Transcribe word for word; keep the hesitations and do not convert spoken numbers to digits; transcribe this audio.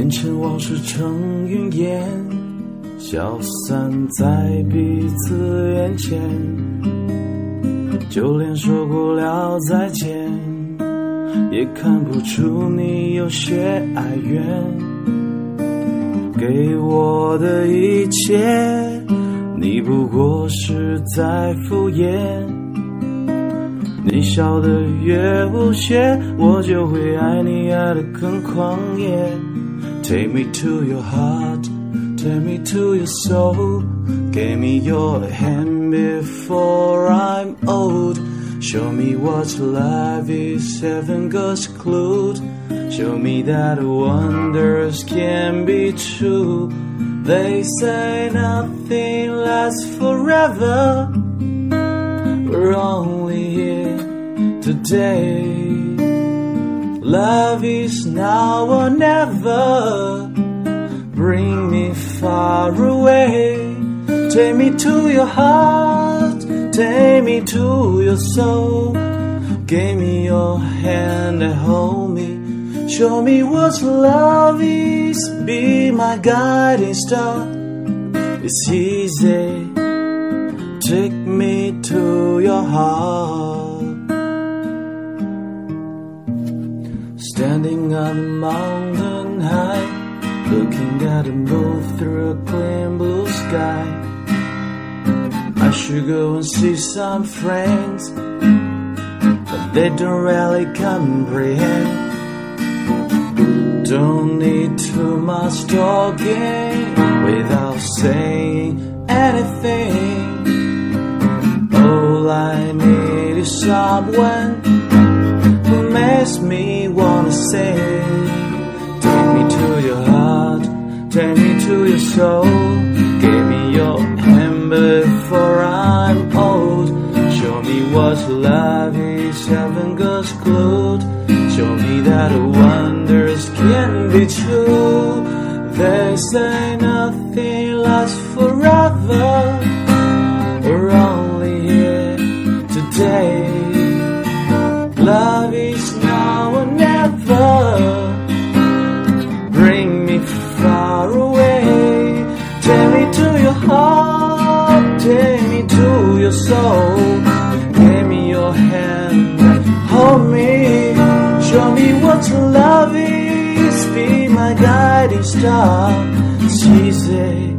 变成往事成云烟，消散在彼此眼前，就连说过了再见，也看不出你有些哀怨。给我的一切，你不过是在敷衍，你笑得越无邪，我就会爱你爱得更狂野。 Take me to your heart, take me to your soul, give me your hand before I'm old. Show me what life is, heaven God's clue. Show me that wonders can be true. They say nothing lasts forever. We're only here today. Love is now or never. Bring me far away. Take me to your heart, take me to your soul. Give me your hand and hold me. Show me what love is, be my guiding star. It's easy, take me to your heart. Standing on a mountain high, looking at the moon through a clean blue sky. I should go and see some friends, but they don't really comprehend. Don't need too much talking without saying anything. All I need is someone who makes me wanna sing. Take me to your heart, take me to your soul. Give me your hand before I'm old. Show me what love is, heaven God's clue. Show me that wonders can be true. They say nothing lasts forever. We're only here today. Love is now or never. Bring me far away. Take me to your heart, take me to your soul. Give me your hand, hold me. Show me what love is, be my guiding star. It's easy,